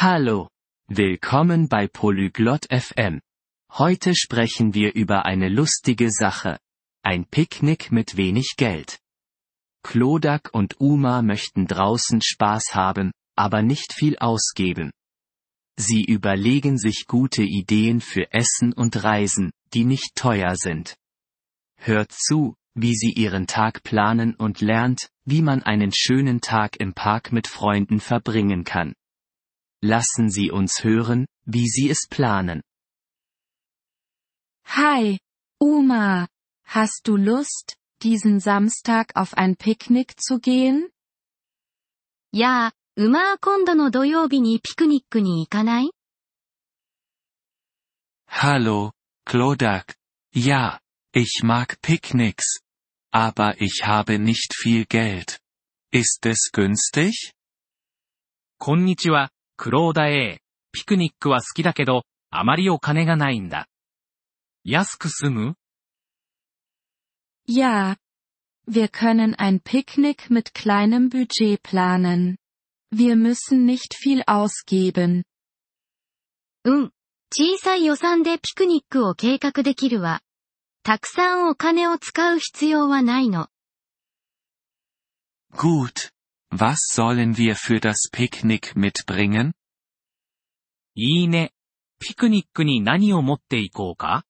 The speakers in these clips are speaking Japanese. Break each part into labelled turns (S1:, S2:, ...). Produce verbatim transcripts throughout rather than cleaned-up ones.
S1: Hallo. Willkommen bei Polyglot F M. Heute sprechen wir über eine lustige Sache. Ein Picknick mit wenig Geld. Clodak und Uma möchten draußen Spaß haben, aber nicht viel ausgeben. Sie überlegen sich gute Ideen für Essen und Reisen, die nicht teuer sind. Hört zu, wie sie ihren Tag planen und lernt, wie man einen schönen Tag im Park mit Freunden verbringen kann. Lassen Sie uns hören, wie Sie es planen.
S2: Hi, Uma. Hast du Lust, diesen Samstag auf ein Picknick zu gehen?
S3: やあ、馬今度の土曜日にピクニックに行かない？
S4: Hallo, Clodak. Ja, ich mag Picknicks. Aber ich habe nicht viel Geld. Ist es günstig?
S5: こんにちは、クローダ A。ピクニックは好きだけど、あまりお金がないんだ。安く済む？
S2: Ja. Wir können ein Picknick mit kleinem Budget planen. Wir müssen nicht viel ausgeben.
S3: うん。小さい予算でピクニックを計画できるわ。たくさんお金を使う必要はないの。
S4: Gut. Was sollen wir für das Picknick mitbringen?
S5: いいね。ピクニックに何を持っていこうか？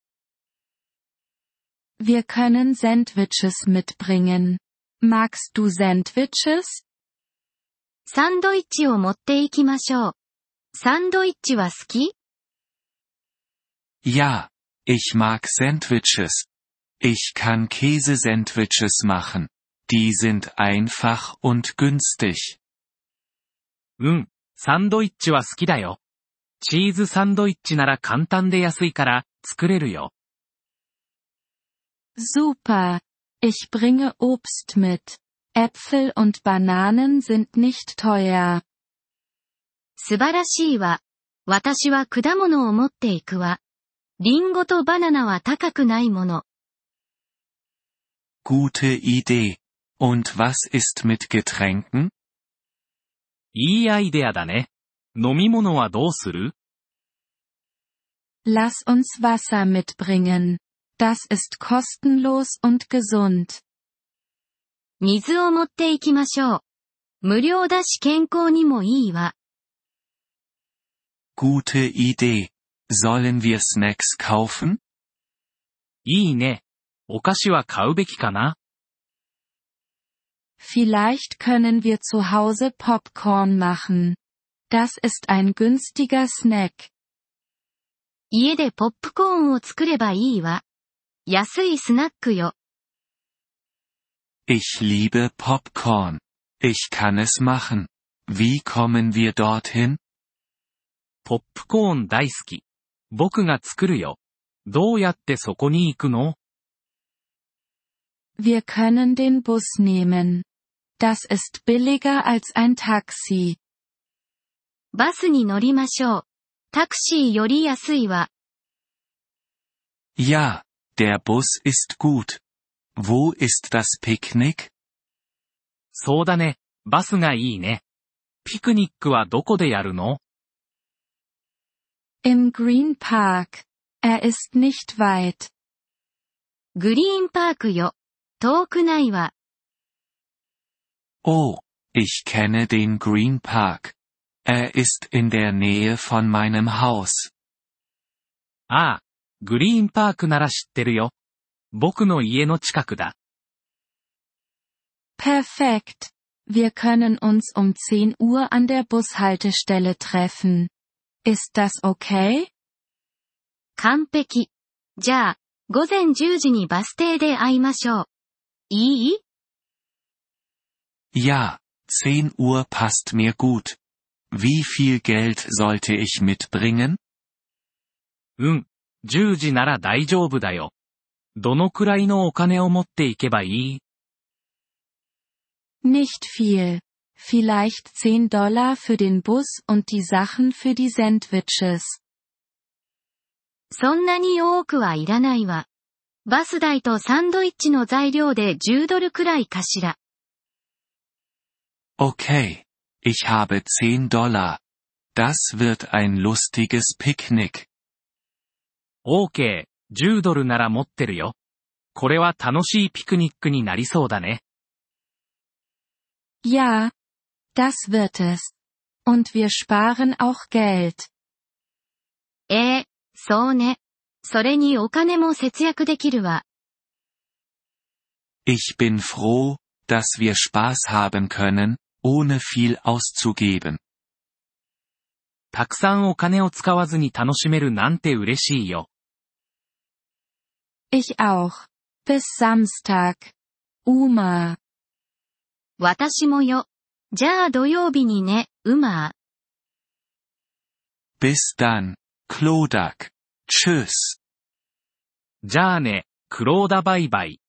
S2: Wir können Sandwiches mitbringen. Magst du Sandwiches?
S3: サンドイッチを持っていきましょう。サンドイッチは好き？
S4: Ja, ich mag Sandwiches. Ich kann Käsesandwiches machen. Die sind einfach und günstig.
S5: うん、サンドイッチは好きだよ。チーズサンドイッチなら簡単で安いから、作れるよ。
S2: Super. Ich bringe Obst mit. Äpfel und Bananen sind nicht teuer.
S3: 素晴らしいわ。私は果物を持っていくわ。リンゴとバナナは高くないもの。
S4: Gute Idee. Und was ist mit Getränken?
S5: いいアイデアだね。飲み物はどうする？
S2: Lass uns Wasser mitbringen. Das ist kostenlos und gesund.
S3: 水を持っていきましょう。無料だし健康にもいいわ。
S4: Gute Idee. Sollen wir Snacks kaufen?
S5: いいね。お菓子は買うべきかな？
S2: Vielleicht können wir zu Hause Popcorn machen. Das ist ein günstiger Snack.
S3: 家でポップコーンを作ればいいわ。安いスナックよ。
S4: Ich liebe Popcorn. Ich kann es machen. Wie kommen wir dorthin?
S5: ポップコーン大好き。僕が作るよ。どうやってそこに行くの？
S2: Wir können den Bus nehmen. Das ist billiger als ein Taxi.
S3: バスに乗りましょう。タクシーより安いわ。
S4: Ja, der Bus ist gut. Wo ist das Picknick?
S5: そうだね。バスがいいね。ピクニックはどこでやるの？
S2: Im Green Park. Er ist nicht weit.
S3: グリーンパークよ。遠くないわ。
S4: Oh, ich kenne den Green Park. Er ist in der Nähe von meinem Haus.
S5: ああ、グリーンパークなら知ってるよ。僕の家の近くだ。
S2: Perfekt. Wir können uns um zehn Uhr an der Bushaltestelle treffen. Ist das okay?
S3: 完璧。じゃあ、午前じゅうじにバス停で会いましょう。いい？
S4: Ja, zehn Uhr passt mir gut. Wie viel Geld sollte ich mitbringen?
S5: うん、じゅうじなら大丈夫だよ。どのくらいのお金を持っていけばいい？
S2: Nicht viel. Vielleicht zehn Dollar für den Bus und die Sachen für die Sandwiches.
S3: そんなに多くはいらないわ。バス代とサンドイッチの材料でじゅうドルくらいかしら。
S4: Okay. Ich habe zehn Dollar. Das wird ein lustiges Picknick.
S5: OK、じゅうドルなら持ってるよ。これは楽しいピクニックになりそうだね。
S2: Ja, das wird es. Und wir sparen auch Geld.
S3: ええ、そうね。それにお金も節約できるわ。
S4: Ich bin froh, dass wir Spaß haben können, ohne viel auszugeben.
S5: たくさんお金を使わずに楽しめるなんて嬉しいよ。
S2: Ich auch. Bis Samstag. Uma.
S3: 私もよ。じゃあ土曜日にね、ウマー。
S4: Bis dann, Clodagh. Tschüss.
S5: じゃあね、クローダバイバイ。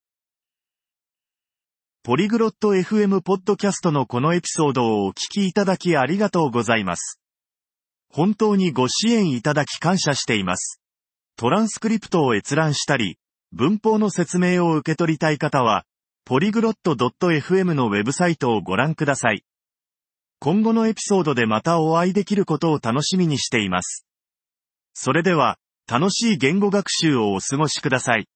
S6: ポリグロット エフエム ポッドキャストのこのエピソードをお聞きいただきありがとうございます。本当にご支援いただき感謝しています。トランスクリプトを閲覧したり、文法の説明を受け取りたい方は、ポリグロット ドットエフエム のウェブサイトをご覧ください。今後のエピソードでまたお会いできることを楽しみにしています。それでは、楽しい言語学習をお過ごしください。